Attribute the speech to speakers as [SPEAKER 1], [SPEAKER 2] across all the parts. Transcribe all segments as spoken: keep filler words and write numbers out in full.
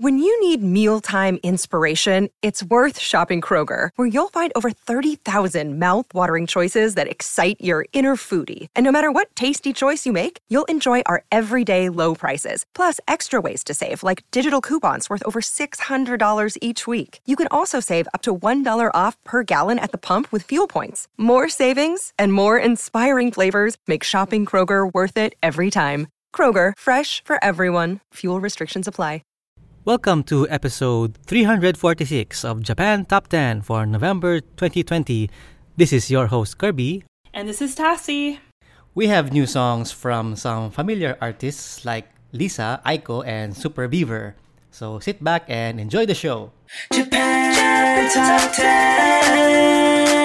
[SPEAKER 1] When you need mealtime inspiration, it's worth shopping Kroger, where you'll find over thirty thousand mouth-watering choices that excite your inner foodie. And no matter what tasty choice you make, you'll enjoy our everyday low prices, plus extra ways to save, like digital coupons worth over six hundred dollars each week. You can also save up to one dollar off per gallon at the pump with fuel points. More savings and more inspiring flavors make shopping Kroger worth it every time. Kroger, fresh for everyone. Fuel restrictions apply.
[SPEAKER 2] Welcome to episode three forty-six of Japan Top ten for November twenty twenty. This is your host, Kirby.
[SPEAKER 3] And this is Tassie.
[SPEAKER 2] We have new songs from some familiar artists like Lisa, Aiko, and Super Beaver. So sit back and enjoy the show.
[SPEAKER 4] Japan Top ten.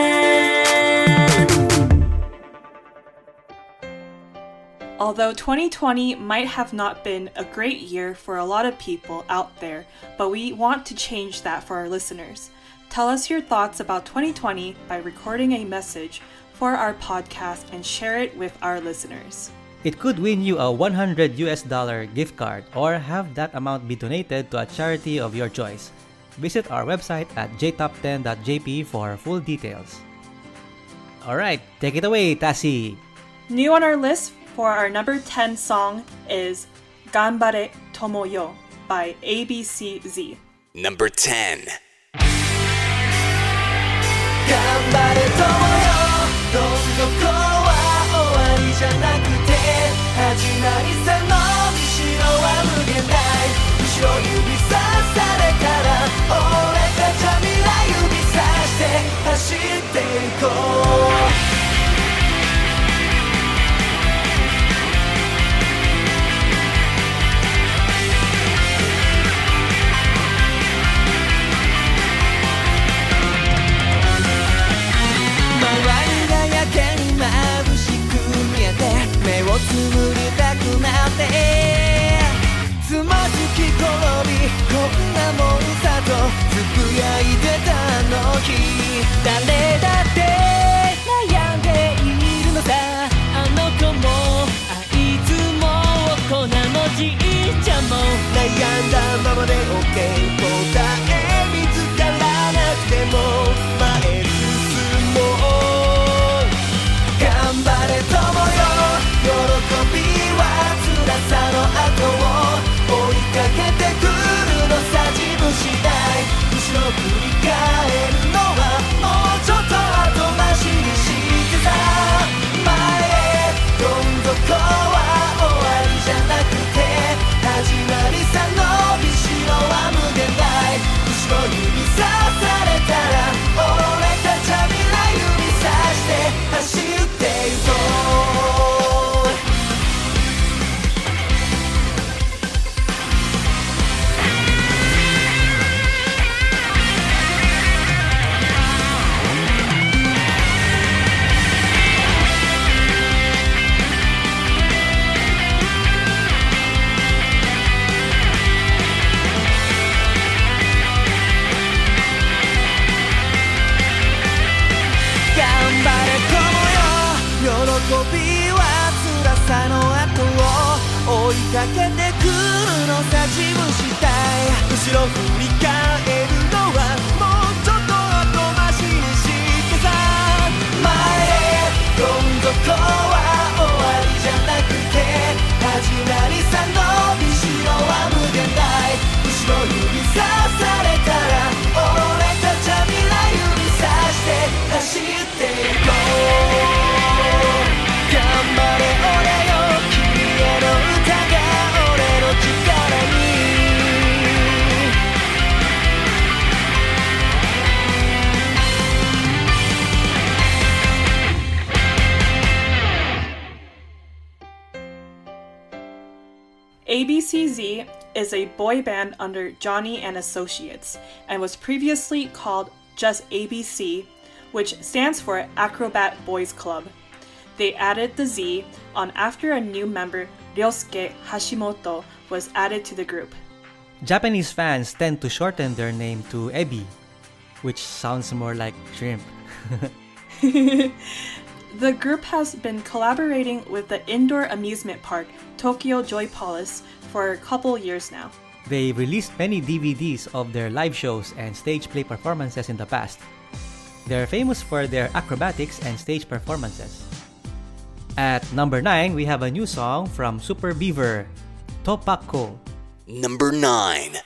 [SPEAKER 3] Although twenty twenty might have not been a great year for a lot of people out there, but we want to change that for our listeners. Tell us your thoughts about twenty twenty by recording a message for our podcast and share it with our listeners.
[SPEAKER 2] It could win you a one hundred U S dollar gift card or have that amount be donated to a charity of your choice. Visit our website at j top ten dot j p for full details. Alright, take it away, Tassie!
[SPEAKER 3] New on our list for our number ten song is Ganbare Tomoyo by A B C Z.
[SPEAKER 4] Number ten.
[SPEAKER 5] 頑張れ友よどん底は終わりじゃなくて始まりさのびしろは無限大後ろ指さされたら俺たちは未来指さして走っていこう目をつむりたくなってつまずき転びこんなもんさとつぶやいてたの日誰だって悩んでいるのさあの子もあいつもこんなのじいちゃんも悩んだままで OK 答え見つからなくても前進もう頑張れ友よ喜びは辛さの後を追いかけてくるのさ自分次第後ろ振り返るのはもうちょっと後回しにしてさ前へどん底は終わりじゃなくて始まりさ伸びしろは無限大後ろ指さされたら俺たちは未来指さして走っていこう喜びは辛さの後を追いかけてくるのさ自分次第後ろ振り返るのはもうちょっと後回しにしてさ前へどん底は終わりじゃなくて始まりさ伸びしろは無限大後ろ指さされたら俺たちは未来指さして走っていこう頑張れ俺よ君への歌が俺の力に
[SPEAKER 3] A B C Z is a boy band under Johnny and Associates and was previously called just A B C, which stands for Acrobat Boys Club. They added the Z on after a new member, Ryosuke Hashimoto, was added to the group.
[SPEAKER 2] Japanese fans tend to shorten their name to Ebi, which sounds more like shrimp.
[SPEAKER 3] The group has been collaborating with the indoor amusement park Tokyo Joy Palace for a couple years now.
[SPEAKER 2] They released many D V Ds of their live shows and stage play performances in the past. They're famous for their acrobatics and stage performances. At number nine, we have a new song from Super Beaver, Topako.
[SPEAKER 4] Number nine.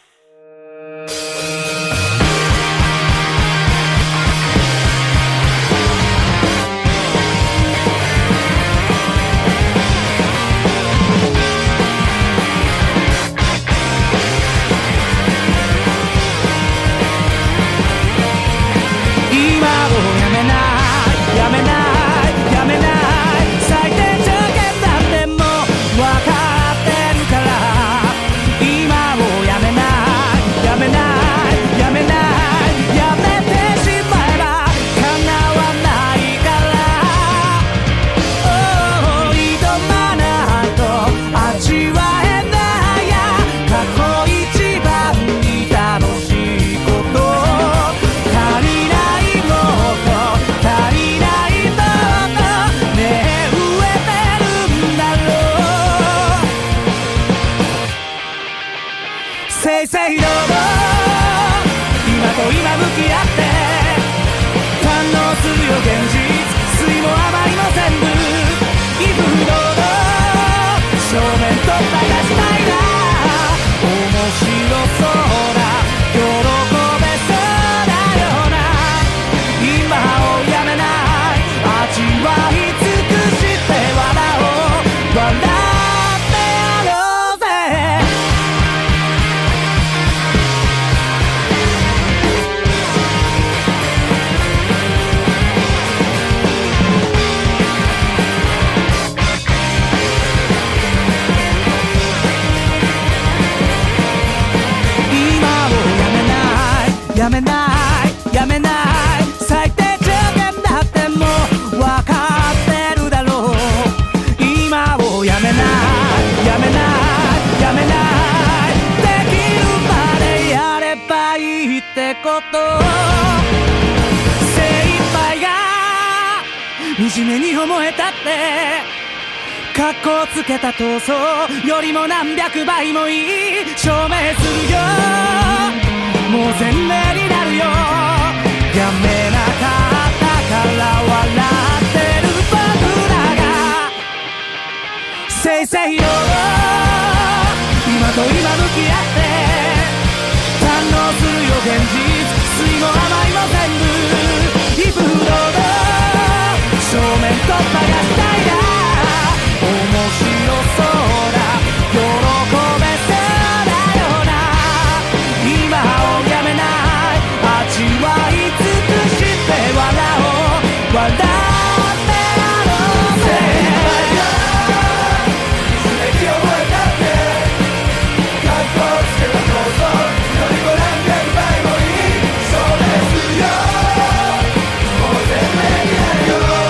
[SPEAKER 5] 惨めに思えたってカッコつけた闘争よりも何百倍もいい証明するよもう全面になるよやめなかったから笑ってる僕らがせいせいよ今と今向き合って堪能するよ現実酸いも甘いも全部イフフロード正面突破がしたいな面白そうだ喜べそうだよな今をやめない味わい尽くして笑おう笑ってやろうぜ息を覚えたって格好つけた闘争よりも何百倍もいいそうですよもう全面になるよ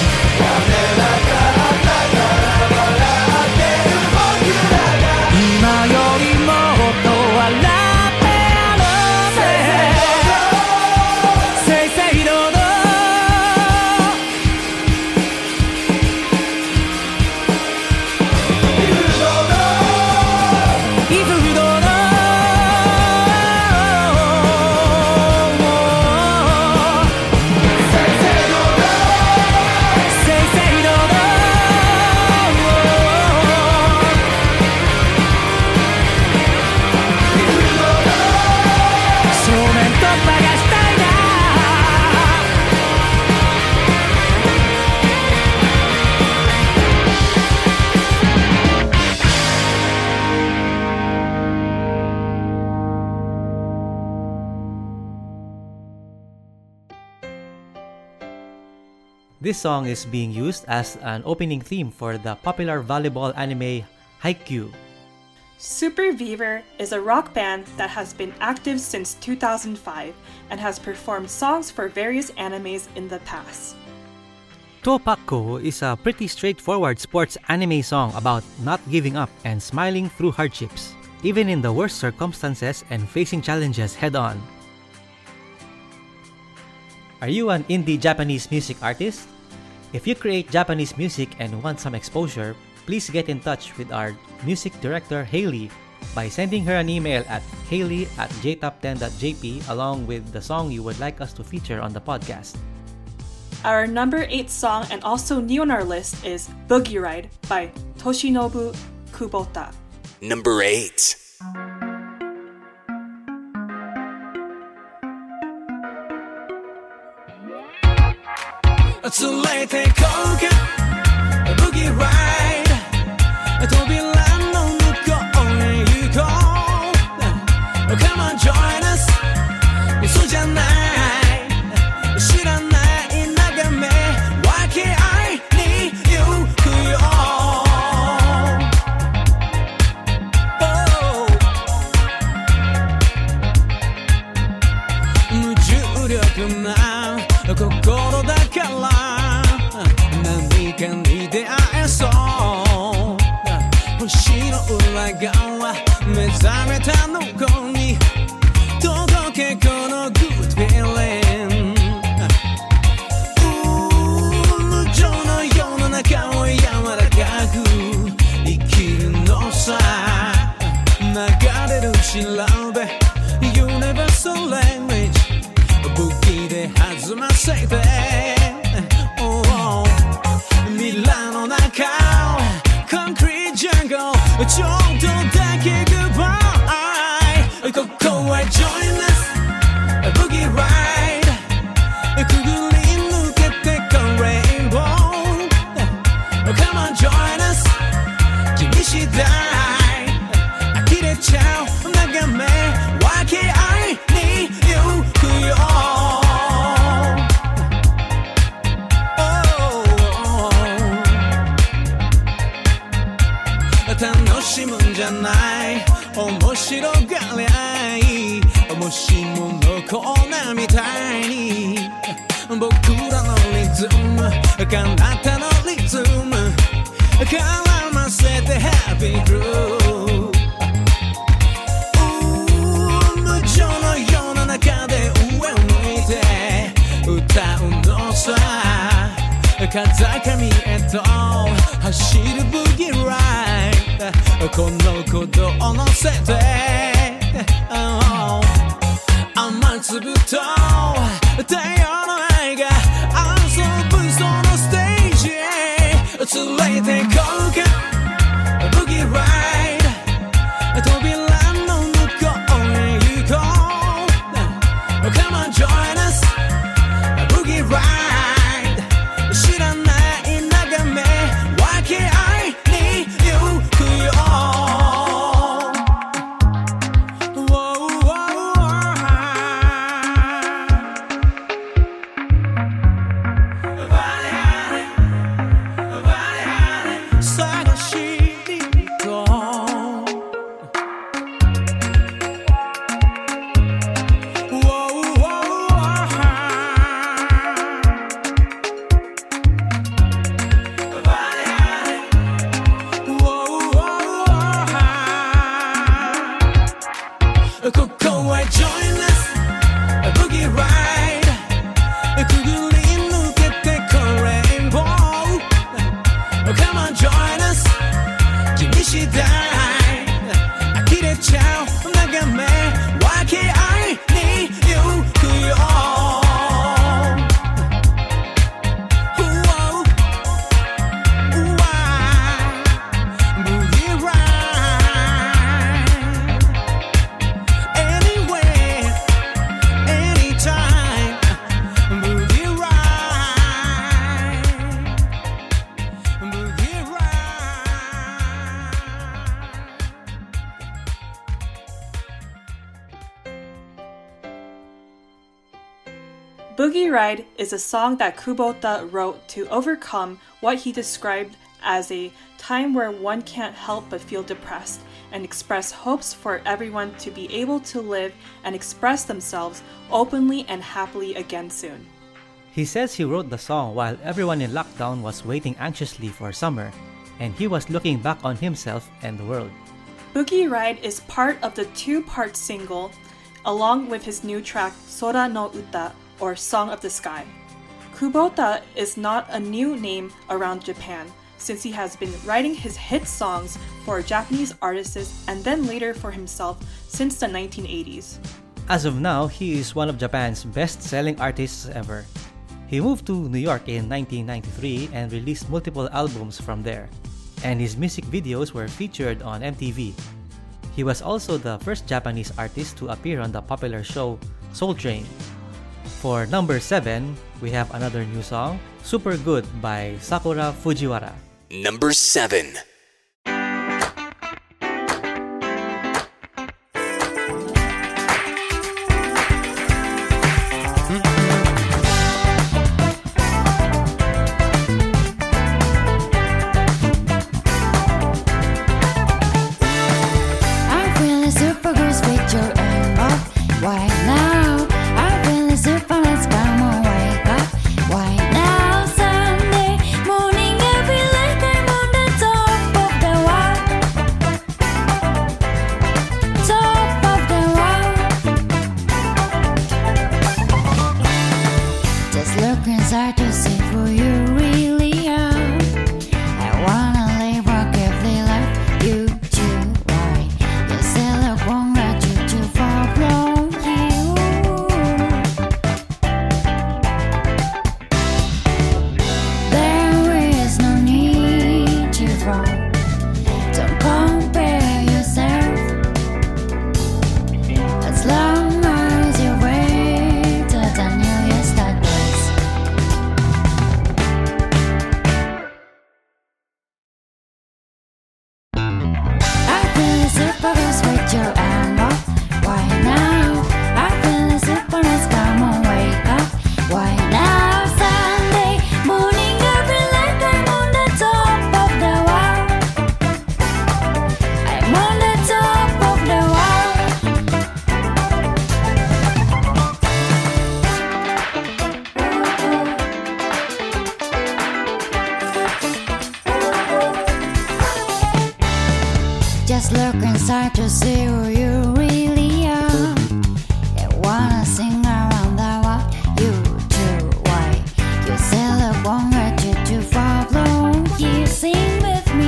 [SPEAKER 2] This song is being used as an opening theme for the popular volleyball anime Haikyuu.
[SPEAKER 3] Super Beaver is a rock band that has been active since two thousand five and has performed songs for various animes in the past.
[SPEAKER 2] Topako is a pretty straightforward sports anime song about not giving up and smiling through hardships, even in the worst circumstances and facing challenges head-on. Are you an indie Japanese music artist? If you create Japanese music and want some exposure, please get in touch with our music director Hailey by sending her an email at haley at j top ten dot j p along with the song you would like us to feature on the podcast.
[SPEAKER 3] Our number eight song and also new on our list is Boogie Ride by Toshinobu Kubota.
[SPEAKER 4] Number eight.
[SPEAKER 5] 連れて行こうか Boogie Ride 扉の向こうへ行こう Come on join us 嘘じゃない知らない眺め分け合いに行くよ oh 無重力な心だから何かに出会えそう星の裏側目覚めたの子に届けこの Good feeling 無情の世の中を柔らかく生きるのさ流れる調べ Universal language 武器で弾ませて、oh, oh. 未来の中コンクリートジャングルちょっとだけ Goodbye ここへ Join us Boogie Ride くぐり抜けてこ Rainbow Come on join us 君次第呆れちゃう眺め分け合いに行くよ楽しむんじゃない面白がりゃいいもしものコーナーみたいに僕らのリズム彼方のリズム絡ませて Happy Groove 無情の世の中で上を向いて歌うのさ風上へと走るブギーライドこの鼓動を乗せて、oh、雨粒と太陽の愛が遊ぶそのステージへ連れて行こうかブギーライド扉の向こうへ行こう Come on join us ブギーライド知らない眺め分け合いに行くよ 探しに行こう ここへ Join us Boogie Ride くぐり抜けてこ Rainbow Come on join us 君次第呆れちゃう眺め分け合いに行くよ Boogie Ride Anywhere Anytime Boogie Ride Boogie Ride
[SPEAKER 3] Boogie Ride is a song that Kubota wrote to overcome what he described as a time where one can't help but feel depressed and express hopes for everyone to be able to live and express themselves openly and happily again soon.
[SPEAKER 2] He says he wrote the song while everyone in lockdown was waiting anxiously for summer, and he was looking back on himself and the world.
[SPEAKER 3] Boogie Ride is part of the two-part single along with his new track Sora no Uta, or Song of the Sky. Kubota is not a new name around Japan, since he has been writing his hit songs for Japanese artists and then later for himself since the nineteen eighties.
[SPEAKER 2] As of now, he is one of Japan's best-selling artists ever. He moved to New York in nineteen ninety-three and released multiple albums from there, and his music videos were featured on M T V. He was also the first Japanese artist to appear on the popular show Soul Train. For number seven, we have another new song, Super Good by Sakura Fujiwara.
[SPEAKER 4] Number seven.
[SPEAKER 6] Just look inside to see who you really are. You wanna sing around the world, you too. Why? You say look one way to too far blown. You sing with me.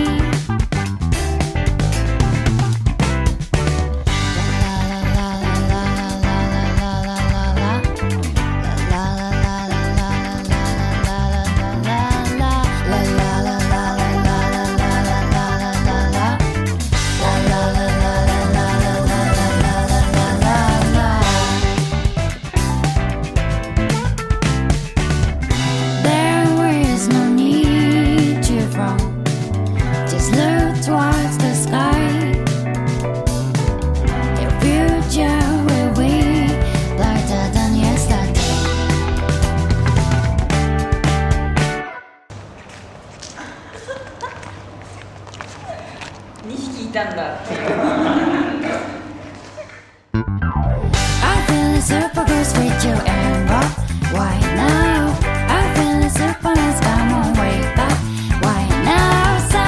[SPEAKER 6] La la la la la la la la la la. La la la la la la la la la la. La la la la la la la la la la. Towards the sky, your future will be brighter than yesterday. I'm feeling super good with you and rock. Why now? I'm feeling super nice. Come on, wake up. Why now?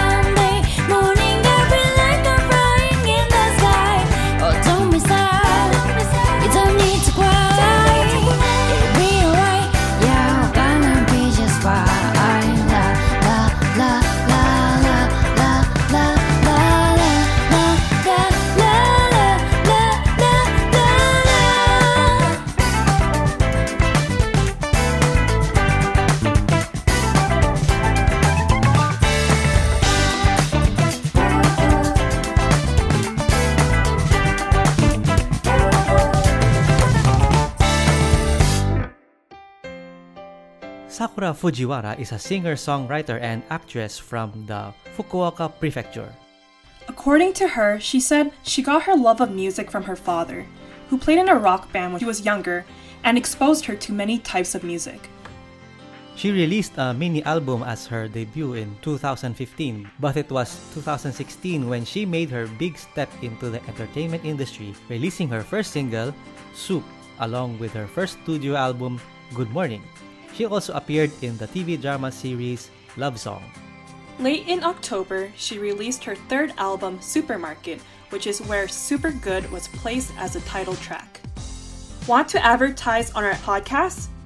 [SPEAKER 2] Sakura Fujiwara is a singer-songwriter and actress from the Fukuoka Prefecture.
[SPEAKER 3] According to her, she said she got her love of music from her father, who played in a rock band when she was younger and exposed her to many types of music.
[SPEAKER 2] She released a mini album as her debut in two thousand fifteen, but it was two thousand sixteen when she made her big step into the entertainment industry, releasing her first single, Soup, along with her first studio album, Good Morning. She also appeared in the T V drama series Love Song.
[SPEAKER 3] Late in October, she released her third album, Supermarket, which is where Super Good was placed as a title track. Want to advertise on our podcast?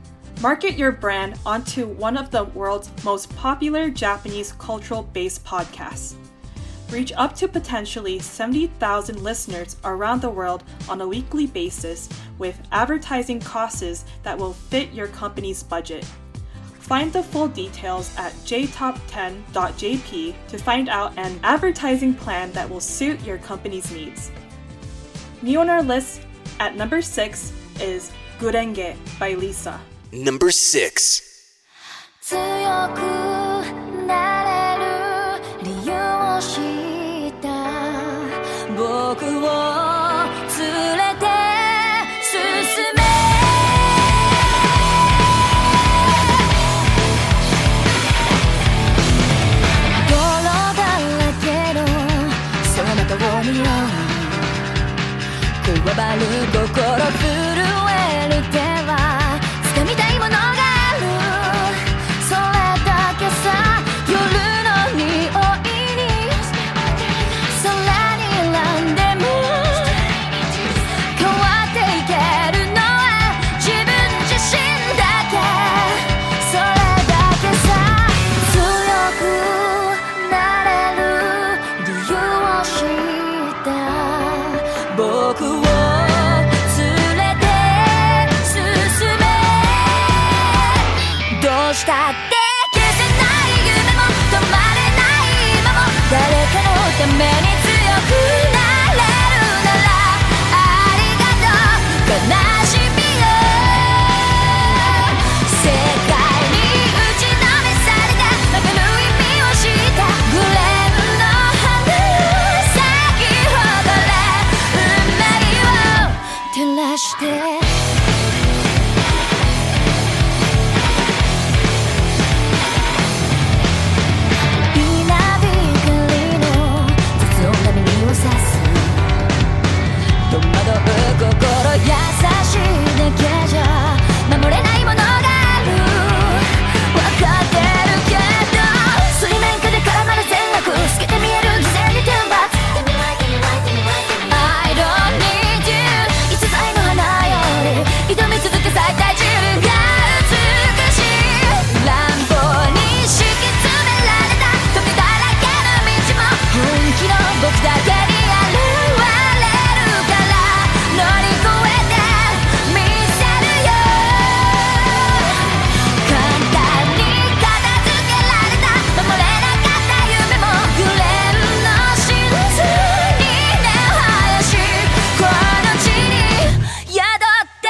[SPEAKER 3] Market your brand onto one of the world's most popular Japanese cultural-based podcasts. Reach up to potentially seventy thousand listeners around the world on a weekly basis with advertising costs that will fit your company's budget. Find the full details at j top ten dot j p to find out an advertising plan that will suit your company's needs. New on our list at number six is Gurenge by Lisa.
[SPEAKER 4] Number six.
[SPEAKER 6] 強くなれる理由を知った僕を連れて進め泥だらけのその中を見ようくわばる心震える手は掴みたいものがあるそれだけさ夜の匂いに空に選んでも変わっていけるのは自分自身だけそれだけさ強くなれる理由を知った僕をしたって消せない夢も止まれない今も誰かのために強くなれるならありがとう悲しみよ世界に打ちのめされたわかる意味を知ったグレーの花咲き誇れ運命を照らして戸惑う心優しいだけじゃ守れないものがある分かってるけど水面下で絡まる善悪透けて見える偽善に天罰 I don't need you 逸材の花より挑み続け最大自分が美しい乱暴に敷き詰められた時だらけの道も本気の僕だけにある乗り越えてみせるよ簡単に片付けられた守れなかった夢もグレーの真珠に根を生やしこの地に宿って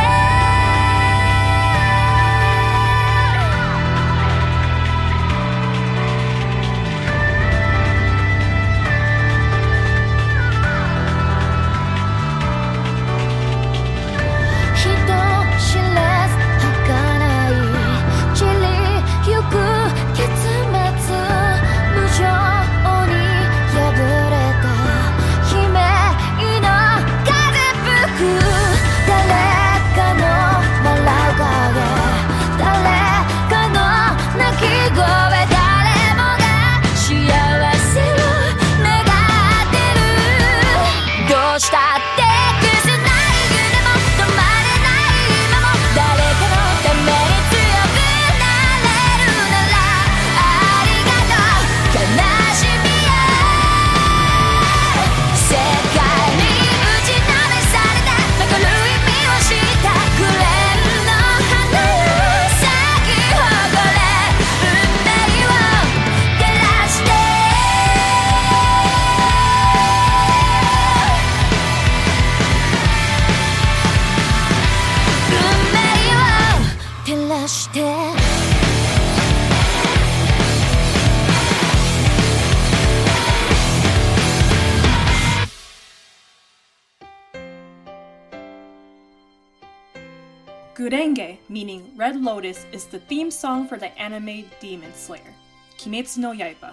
[SPEAKER 3] Gurenge, meaning Red Lotus, is the theme song for the anime Demon Slayer, Kimetsu no Yaiba.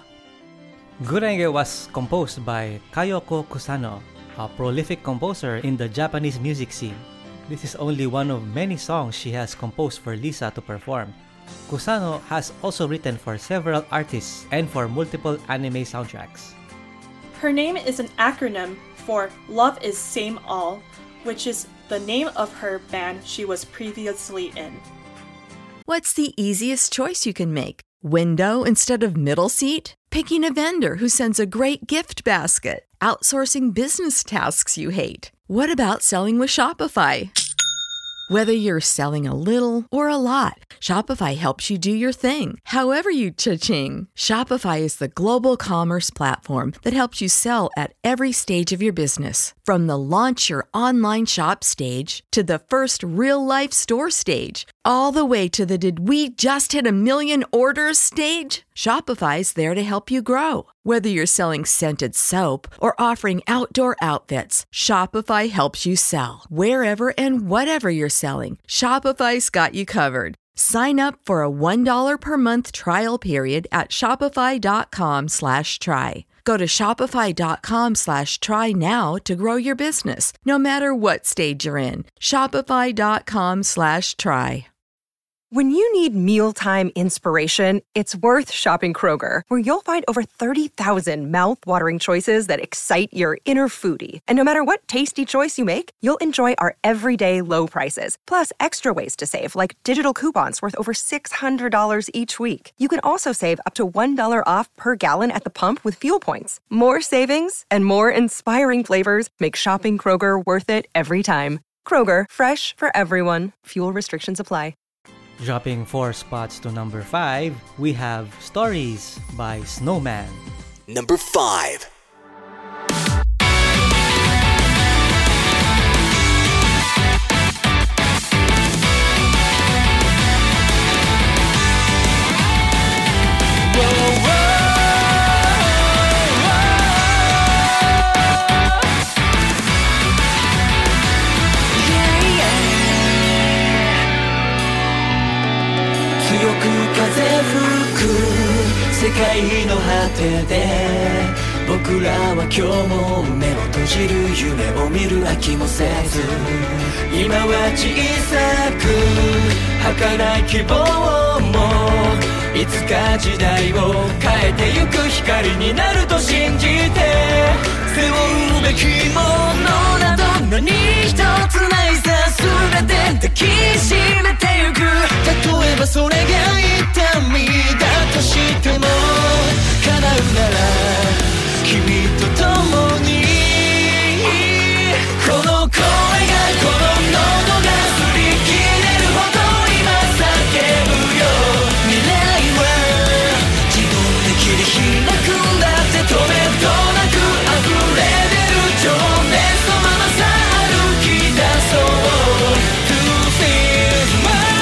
[SPEAKER 2] Gurenge was composed by Kayoko Kusano, a prolific composer in the Japanese music scene. This is only one of many songs she has composed for Lisa to perform. Kusano has also written for several artists and for multiple anime soundtracks.
[SPEAKER 3] Her name is an acronym for Love is Same All, which is the name of her band she was previously in.
[SPEAKER 7] What's the easiest choice you can make? Window instead of middle seat? Picking a vendor who sends a great gift basket? Outsourcing business tasks you hate? What about selling with Shopify? Whether you're selling a little or a lot, Shopify helps you do your thing, however you cha-ching. Shopify is the global commerce platform that helps you sell at every stage of your business. From the launch your online shop stage to the first real-life store stage, all the way to the did we just hit a million orders stage. Shopify's there to help you grow. Whether you're selling scented soap or offering outdoor outfits, Shopify helps you sell. Wherever and whatever you're selling, Shopify's got you covered. Sign up for a one dollar per month trial period at shopify.com slash try. Go to shopify.com slash try now to grow your business, no matter what stage you're in. Shopify.com slash try.
[SPEAKER 1] When you need mealtime inspiration, it's worth shopping Kroger, where you'll find over thirty thousand mouth-watering choices that excite your inner foodie. And no matter what tasty choice you make, you'll enjoy our everyday low prices, plus extra ways to save, like digital coupons worth over six hundred dollars each week. You can also save up to one dollar off per gallon at the pump with fuel points. More savings and more inspiring flavors make shopping Kroger worth it every time. Kroger, fresh for everyone. Fuel restrictions apply.
[SPEAKER 2] Dropping four spots to number five, we have Stories by Snowman.
[SPEAKER 4] Number five.
[SPEAKER 5] 世界の果てで僕らは今日も目を閉じる夢を見る飽きもせず今は小さく儚い希望もいつか時代を変えてゆく光になると信じて背負うべきものなど何一つないさ全て抱きしめてゆく例えばそれが痛みだとしても叶うなら君と共にこの声がこの喉が擦り切れるほど今叫ぶよ未来は自分で切り開くんだって止めどなく溢れ出る情熱のままさ歩き出そう To feel my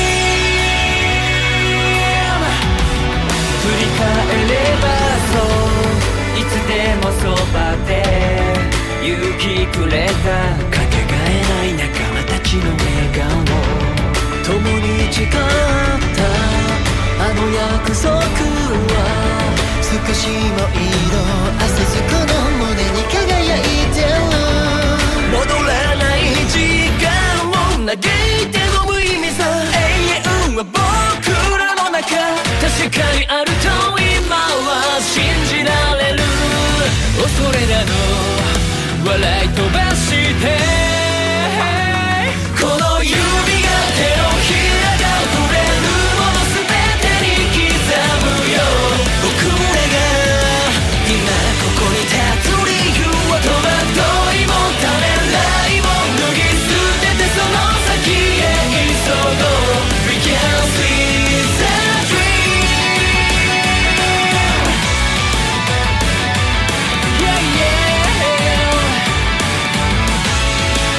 [SPEAKER 5] dream 振り返ればそういつでもそばで勇気くれたかけがえない仲間たちの笑顔共に誓ったあの約束は少しも色あせずこの胸に輝いてる戻らない時間を嘆いての無意味さ永遠は僕らの中確かにあると今は信じられる恐れなど笑い飛ばしてこの指が手のひらが触れるもの全てに刻むよ僕らが今ここに立つ理由は戸惑いもためらいも脱ぎ捨ててその先へ急ごう We can see the dream Yeah yeah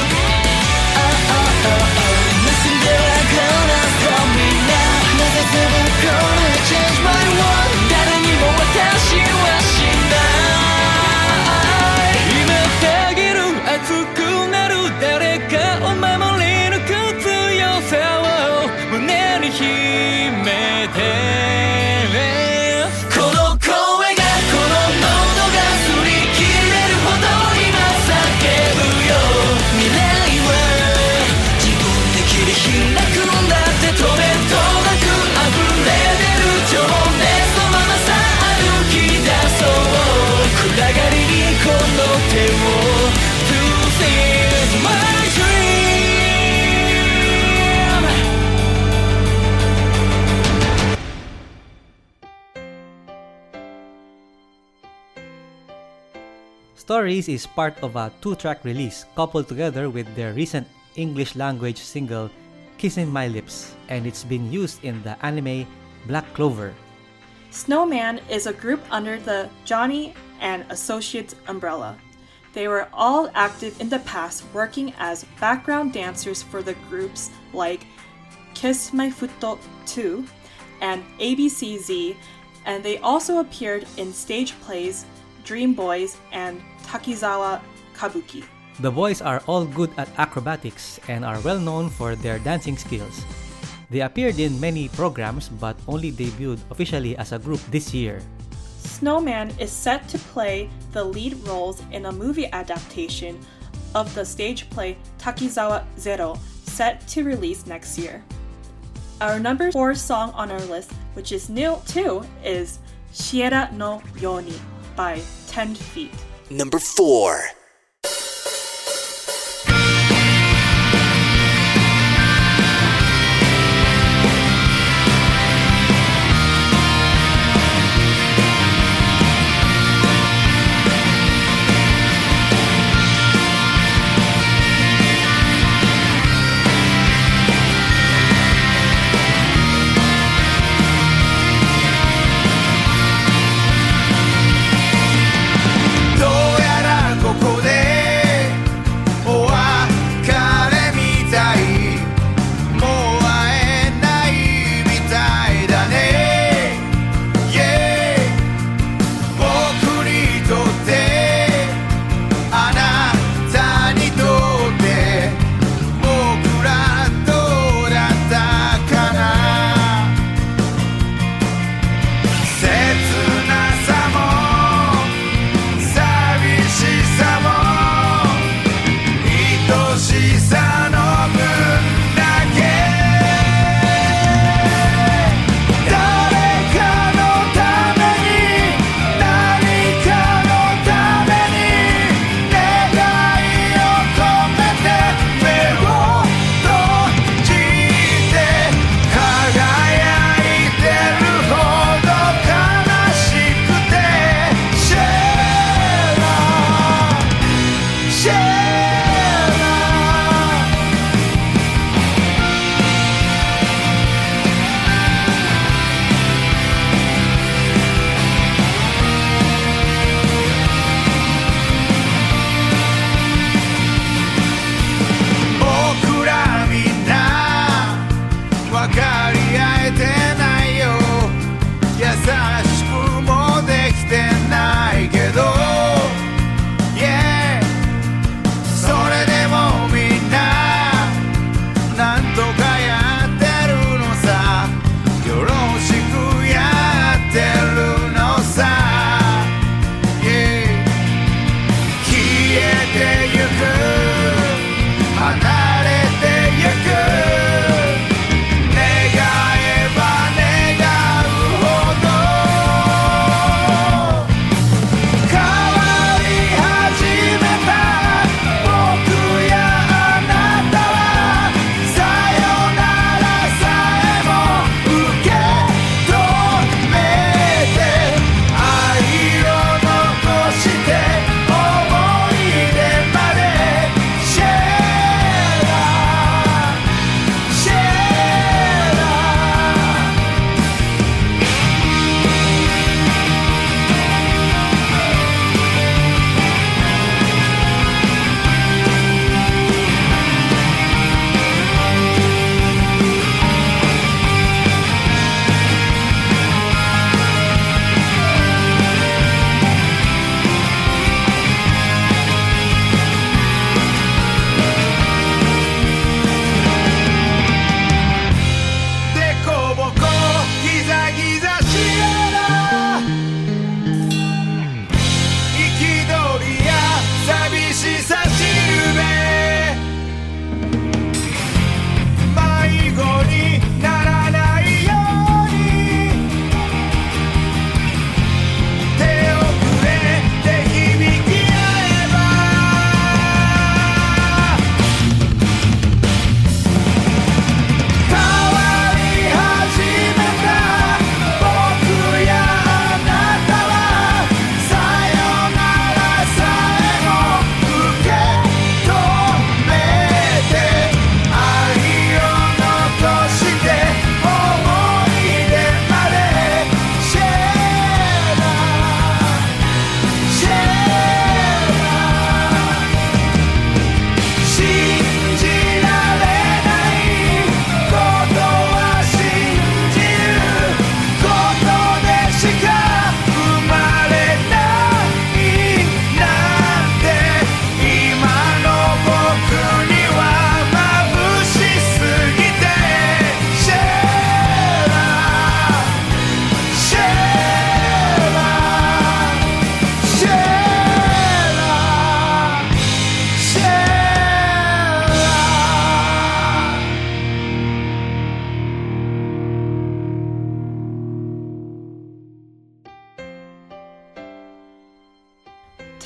[SPEAKER 2] Stories is part of a two-track release coupled together with their recent English-language single Kissin' My Lips, and it's been used in the anime Black Clover.
[SPEAKER 3] Snowman is a group under the Johnny and Associates umbrella. They were all active in the past, working as background dancers for the groups like Kiss My Futo two and A B C Z, and they also appeared in stage plays Dream Boys and Takizawa Kabuki.
[SPEAKER 2] The boys are all good at acrobatics and are well known for their dancing skills. They appeared in many programs but only debuted officially as a group this year.
[SPEAKER 3] Snowman is set to play the lead roles in a movie adaptation of the stage play Takizawa Zero, set to release next year. Our number four song on our list, which is new too, is Shiera no Yoni by ten feet.
[SPEAKER 4] Number four.
[SPEAKER 5] どうやらここ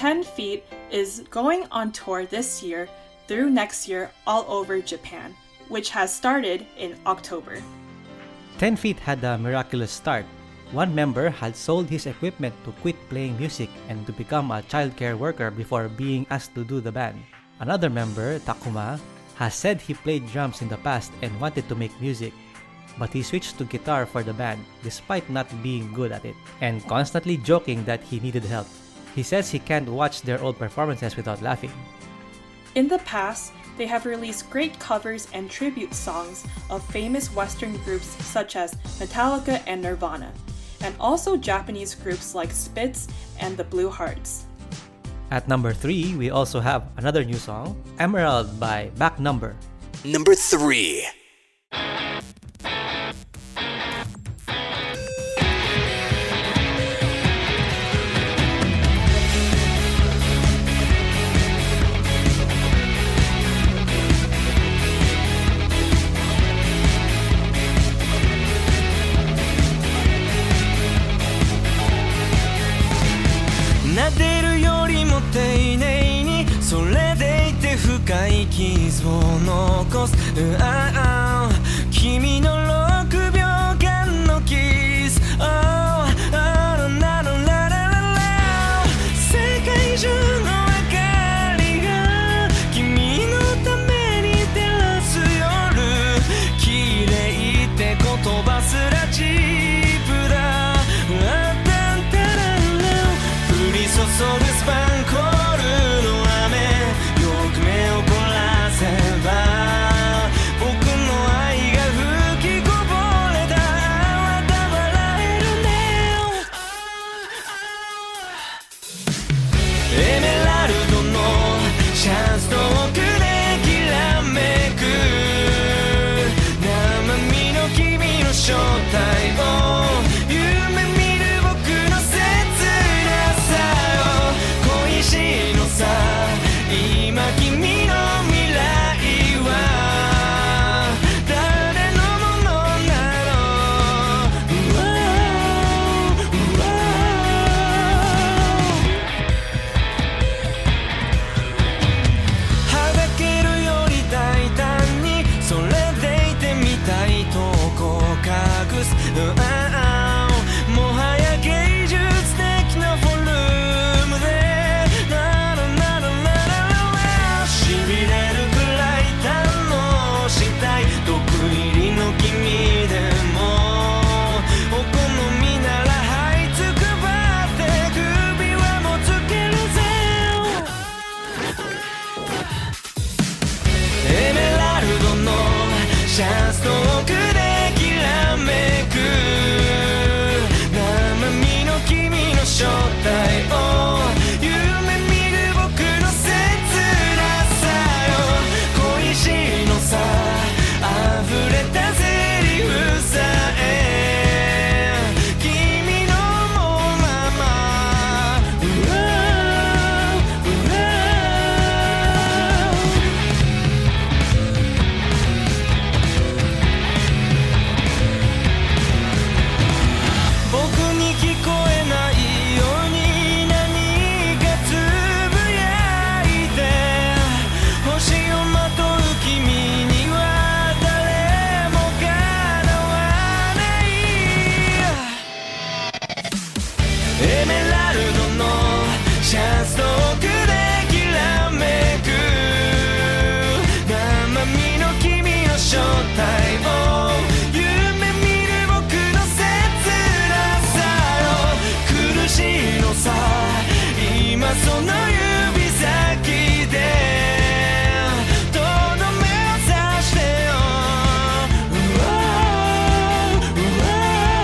[SPEAKER 3] ten feet is going on tour this year through next year all over Japan, which has started in October.
[SPEAKER 2] ten feet had a miraculous start. One member had sold his equipment to quit playing music and to become a childcare worker before being asked to do the band. Another member, Takuma, has said he played drums in the past and wanted to make music, but he switched to guitar for the band despite not being good at it, and constantly joking that he needed help. He says he can't watch their old performances without laughing.
[SPEAKER 3] In the past, they have released great covers and tribute songs of famous Western groups such as Metallica and Nirvana, and also Japanese groups like Spitz and the Blue Hearts.
[SPEAKER 2] At number three, we also have another new song, Emerald by Back Number.
[SPEAKER 4] Number three.
[SPEAKER 5] 撫でるよりも丁寧にそれでいて深い傷を残す、うああ君のろくびょうかんのキス、oh, oh, la, la, la, la, la, la 世界中の明かりが君のために照らす夜、綺麗って言葉すらチープだ、注ぐスパンコールの雨、よく目を凝らせば僕の愛が吹きこぼれた、また笑えるね。エメラルドのシャツ遠くできらめく生身の君の正体を夢見る僕の切なさ、今君の未来は誰のものなの、うわうわはだけるより大胆にそれでいてみたいとこ隠す、うあもはや芸術的なフォルムで君でもお好みなら這いつくばって首はもつけるぜ、エメラルドのシャツ遠くできらめく生身の君の正体を夢見る僕の切なさよ、恋しいのさ溢れたセリフさえ君のもまま、うわうわ僕に聞こえないように何かつぶやいて、星をまとう君にはエメラルドのシャツ遠くできらめく生身の君の正体を夢見る僕の切なさよ、苦しいのさ今その指先でとどめを刺してよ、うわうわ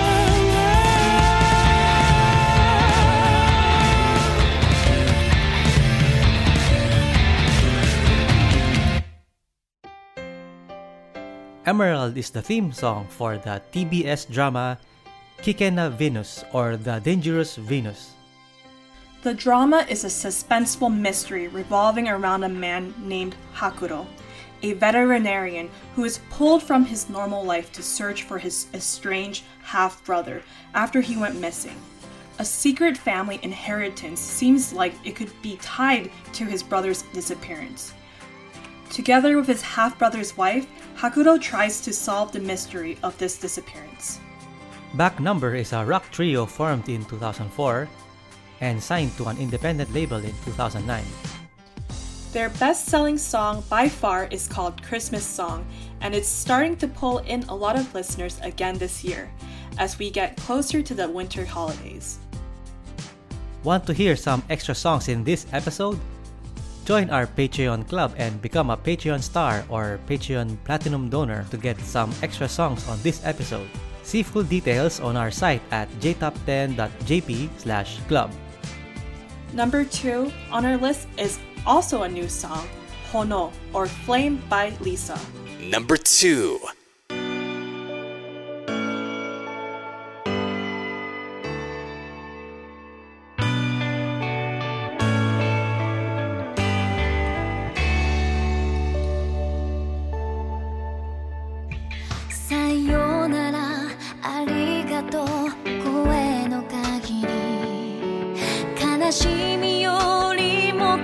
[SPEAKER 2] Emerald is the theme song for the T B S drama Kikena Venus or The Dangerous Venus.
[SPEAKER 3] The drama is a suspenseful mystery revolving around a man named Hakuro, a veterinarian who is pulled from his normal life to search for his estranged half-brother after he went missing. A secret family inheritance seems like it could be tied to his brother's disappearance. Together with his half-brother's wife, Hakuto tries to solve the mystery of this disappearance.
[SPEAKER 2] Back Number is a rock trio formed in two thousand four and signed to an independent label in two thousand nine.
[SPEAKER 3] Their best-selling song by far is called Christmas Song, and it's starting to pull in a lot of listeners again this year, as we get closer to the winter holidays.
[SPEAKER 2] Want to hear some extra songs in this episode? Join our Patreon club and become a Patreon star or Patreon Platinum donor to get some extra songs on this episode. See full details on our site at j top ten dot j p slash club.
[SPEAKER 3] Number two on our list is also a new song, Hono, or Flame by Lisa.
[SPEAKER 4] Number two.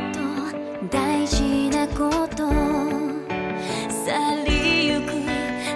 [SPEAKER 6] 去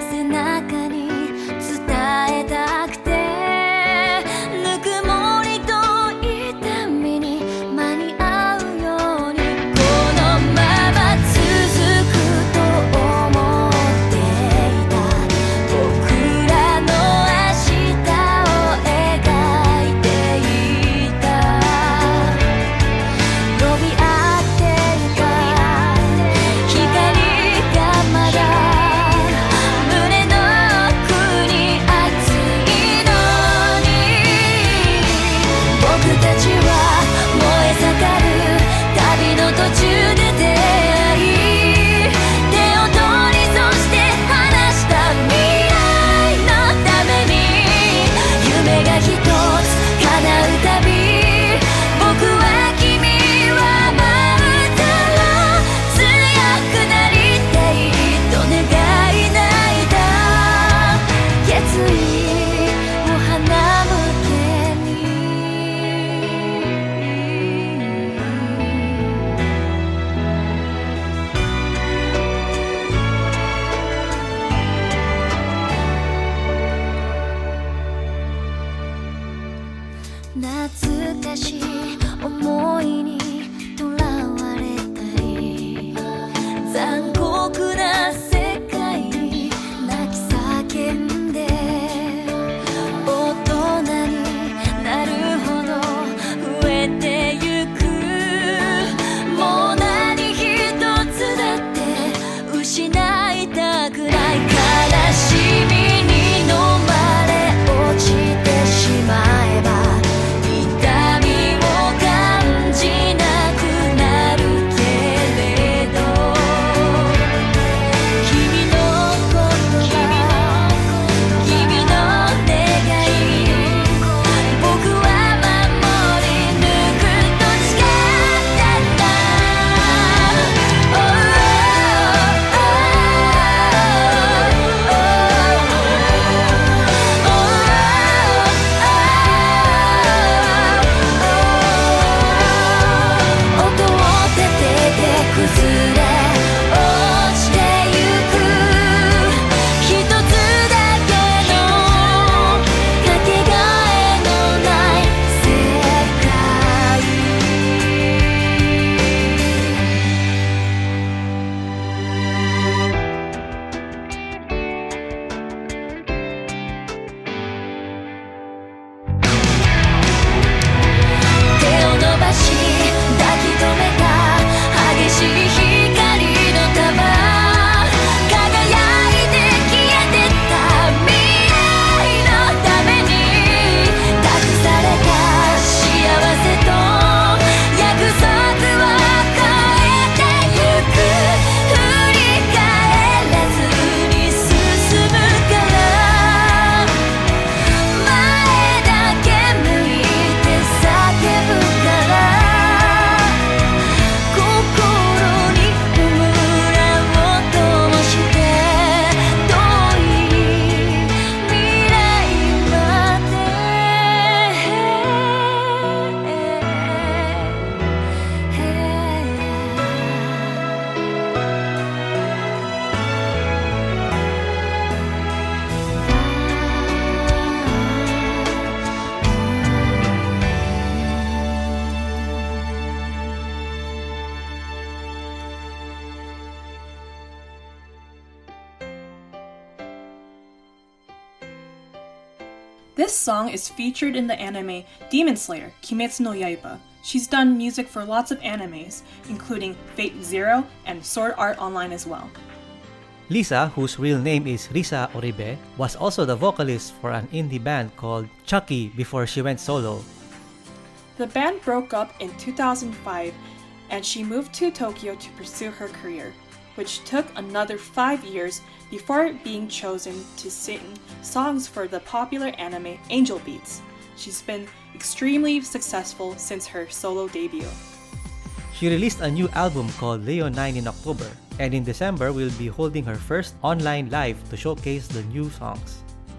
[SPEAKER 3] This song is featured in the anime Demon Slayer, Kimetsu no Yaiba. She's done music for lots of animes, including Fate Zero and Sword Art Online as well.
[SPEAKER 2] Lisa, whose real name is Risa Oribe, was also the vocalist for an indie band called Chucky before she went solo.
[SPEAKER 3] The band broke up in two thousand five and she moved to Tokyo to pursue her career, which took another five years before being chosen to sing songs for the popular anime Angel Beats. She's been extremely successful since her solo debut.
[SPEAKER 2] She released a new album called Leonine in October, and in December will be holding her first online live to showcase the new songs.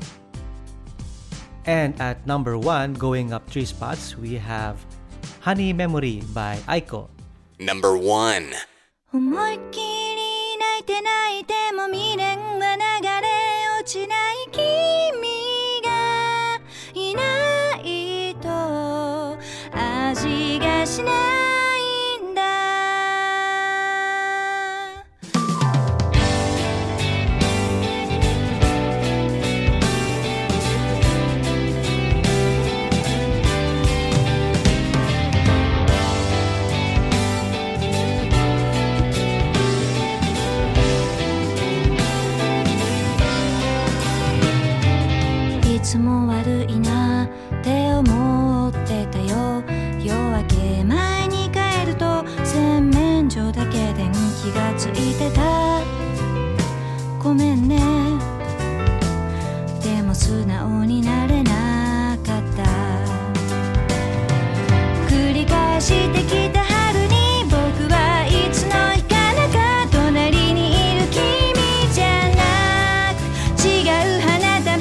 [SPEAKER 2] And at number one, going up three spots, we have Honey Memory by Aiko.
[SPEAKER 4] Number one.
[SPEAKER 6] 思いっきり泣いて泣いても未練は流れ落ちない君がいないと味がしないんだいつも悪いなって思ってたよ夜明け前に帰ると洗面所だけ電気がついてたごめんねでも素直になれなかった繰り返してきた春に僕はいつの日かなか隣にいる君じゃなく違う花束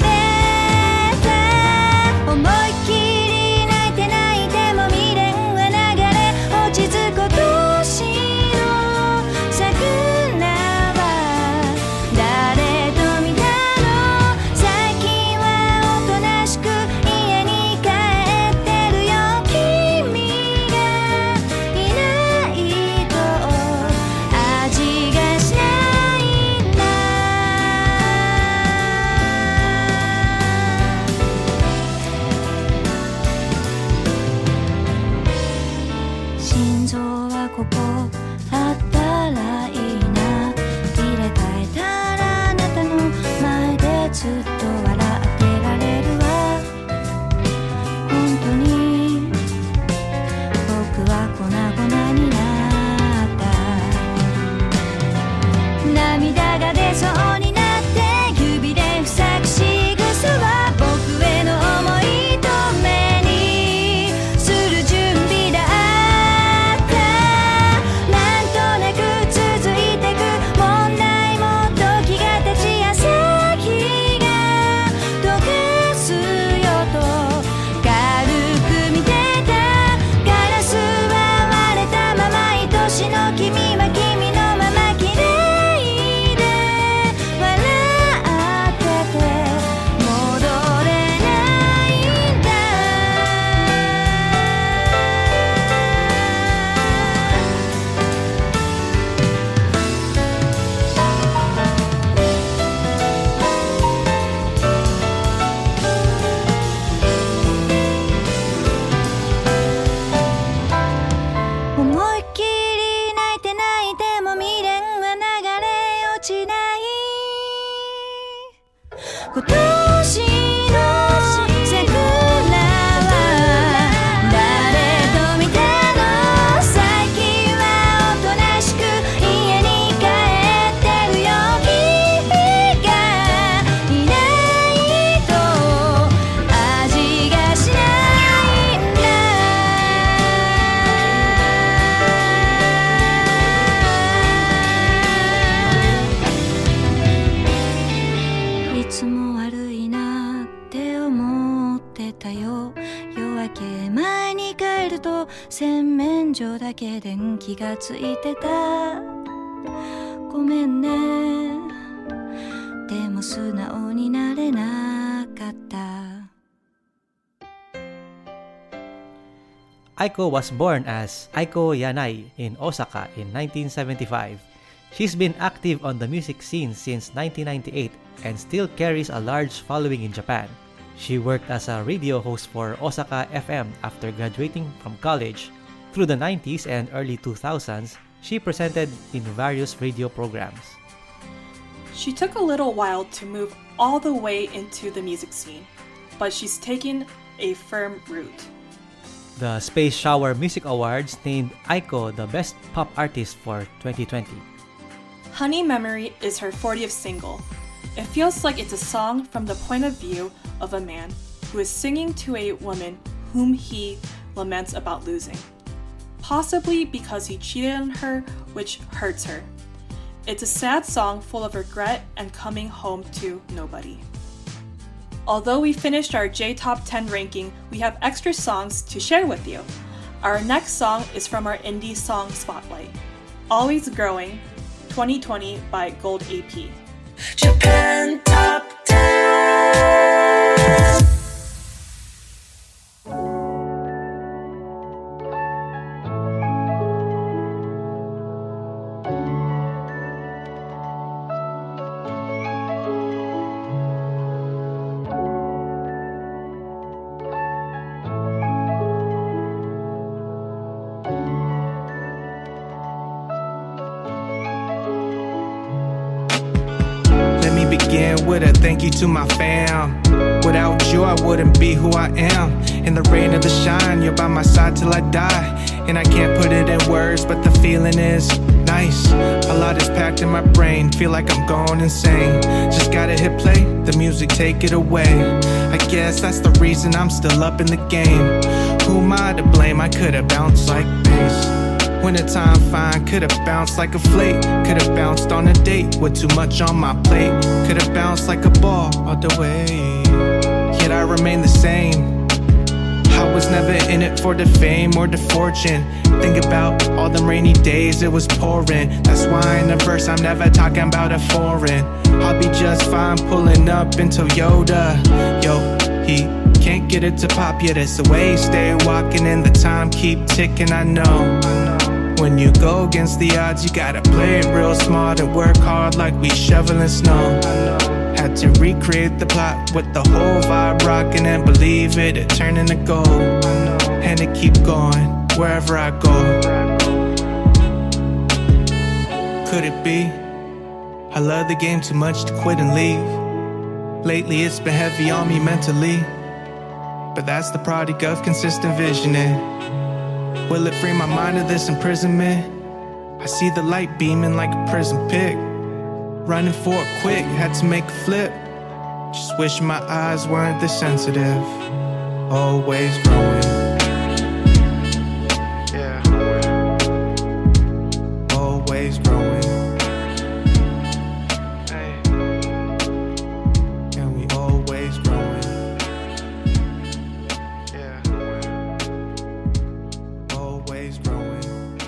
[SPEAKER 6] 思いっきり泣いて泣いても未練は流れ落ち着く年の桜は誰と見たの最近はおとなしく家に帰ってるよ君がいないと味がしないんだ心臓はここあったらいいな入れ替えたらあなたの前でずっと笑ってられるわ本当に僕は粉々になった涙が出そうになって指で塞ぐ仕草は僕への思いと目にする準備だったなんとなく続いてく問題も時が経ち朝日が溶かすよと軽く見てたガラスは割れたまま愛しの君は君のまま綺麗で笑ってて戻れないんだ思いっきり泣いて泣いても未練は流れ落ちない今年の桜は誰と見たの最近はおとなしく家に帰ってるよ君がいないと味がしないんだいつも悪いなって思ってたよ夜明け前に帰ると洗面所だけ電気がついてたごめんねでも素直になれなかった
[SPEAKER 2] Aiko was born as Aiko Yanai in Osaka in nineteen seventy-five. She's been active on the music scene since nineteen ninety-eight and still carries a large following in Japan. She worked as a radio host for Osaka F M after graduating from college. Through the nineties and early two thousands, she presented in various radio programs.
[SPEAKER 3] She took a little while to move all the way into the music scene, but she's taken a firm root.
[SPEAKER 2] The Space Shower Music Awards named Aiko the Best Pop Artist for twenty twenty.
[SPEAKER 3] Honey Memory is her fortieth single. It feels like it's a song from the point of view of a man who is singing to a woman whom he laments about losing, possibly because he cheated on her, which hurts her. It's a sad song full of regret and coming home to nobody. Although we finished our J Top ten ranking, we have extra songs to share with you. Our next song is from our indie song spotlight, Always Growing, twenty twenty by Gold A P.
[SPEAKER 5] Japan Top ten. Begin with a thank you to my fam. Without you I wouldn't be who I am. In the rain or the shine, you're by my side till I die. And I can't put it in words, but the feeling is nice. A lot is packed in my brain, feel like I'm going insane. Just gotta hit play, the music take it away. I guess that's the reason I'm still up in the game. Who am I to blame? I could've bounced like bass. Wintertime fine, could've bounced like a flake. Could've bounced on a date with too much on my plate. Could've bounced like a ball all the way. Yet I remain the same. I was never in it for the fame or the fortune. Think about all them rainy days it was pouring. That's why in the verse I'm never talking about a foreign. I'll be just fine pulling up in Toyota. Yo, he can't get it to pop yet, it's the way. Stay walking and the time keep ticking, I know. When you go against the odds, you gotta play it real smart and work hard like we shoveling snow. Had to recreate the plot with the whole vibe rocking and believe it, it turning to gold. And it keep going wherever I go. Could it be? I love the game too much to quit and leave. Lately it's been heavy on me mentally, but that's the product of consistent visioning. Will it free my mind of this imprisonment? I see the light beaming like a prison pick. Running for it quick, had to make a flip. Just wish my eyes weren't this sensitive. Always growing. Yeah. Always growing. Hey. And we always growing. Yeah. Always growing.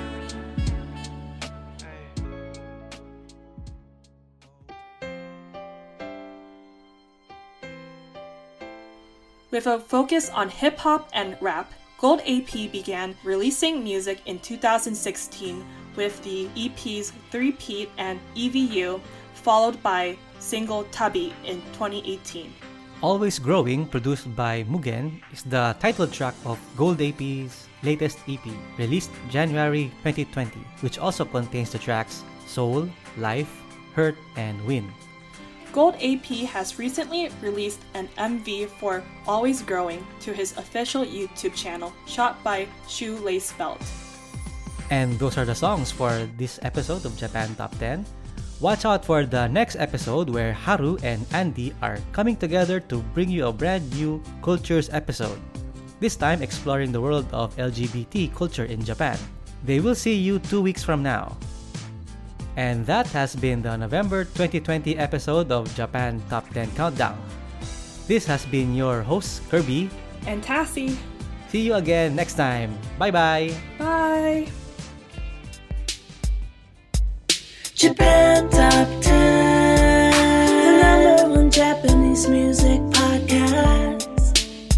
[SPEAKER 3] With a focus on hip-hop and rap, Gold A P began releasing music in two thousand sixteen with the E Ps Three-Peat and E V U, followed by single Tabi in twenty eighteen.
[SPEAKER 2] Always Growing, produced by Mugen, is the title track of Gold A P's latest E P, released January twenty twenty, which also contains the tracks Soul, Life, Hurt, and Win.
[SPEAKER 3] Gold A P has recently released an M V for Always Growing to his official YouTube channel, shot by Shoelace Belt.
[SPEAKER 2] And those are the songs for this episode of Japan Top ten. Watch out for the next episode where Haru and Andy are coming together to bring you a brand new Cultures episode, this time exploring the world of L G B T culture in Japan. They will see you two weeks from now. And that has been the November twenty twenty episode of Japan Top ten Countdown. This has been your host, Kirby.
[SPEAKER 3] And Tassie.
[SPEAKER 2] See you again next time. Bye-bye.
[SPEAKER 3] Bye.
[SPEAKER 5] Japan Top ten, the number one Japanese music podcast.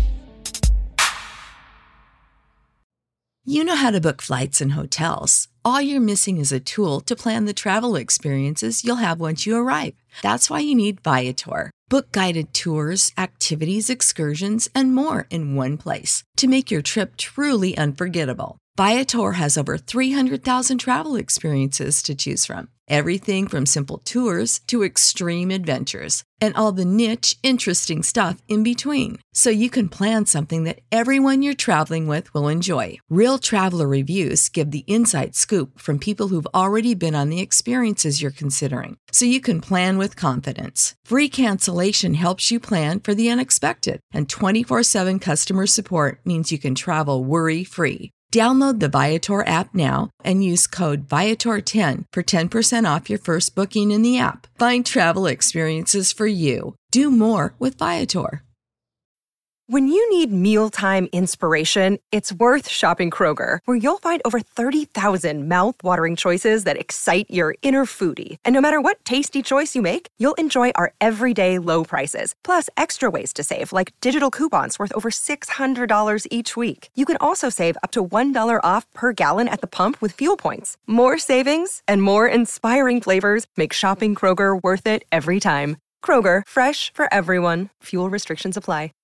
[SPEAKER 7] You know how to book flights and hotels. All you're missing is a tool to plan the travel experiences you'll have once you arrive. That's why you need Viator. Book guided tours, activities, excursions, and more in one place to make your trip truly unforgettable. Viator has over three hundred thousand travel experiences to choose from. Everything from simple tours to extreme adventures and all the niche, interesting stuff in between. So you can plan something that everyone you're traveling with will enjoy. Real traveler reviews give the inside scoop from people who've already been on the experiences you're considering. So you can plan with confidence. Free cancellation helps you plan for the unexpected. And twenty-four seven customer support means you can travel worry-free. Download the Viator app now and use code Viator ten for ten percent off your first booking in the app. Find travel experiences for you. Do more with Viator.
[SPEAKER 1] When you need mealtime inspiration, it's worth shopping Kroger, where you'll find over thirty thousand mouth-watering choices that excite your inner foodie. And no matter what tasty choice you make, you'll enjoy our everyday low prices, plus extra ways to save, like digital coupons worth over six hundred dollars each week. You can also save up to one dollar off per gallon at the pump with fuel points. More savings and more inspiring flavors make shopping Kroger worth it every time. Kroger, fresh for everyone. Fuel restrictions apply.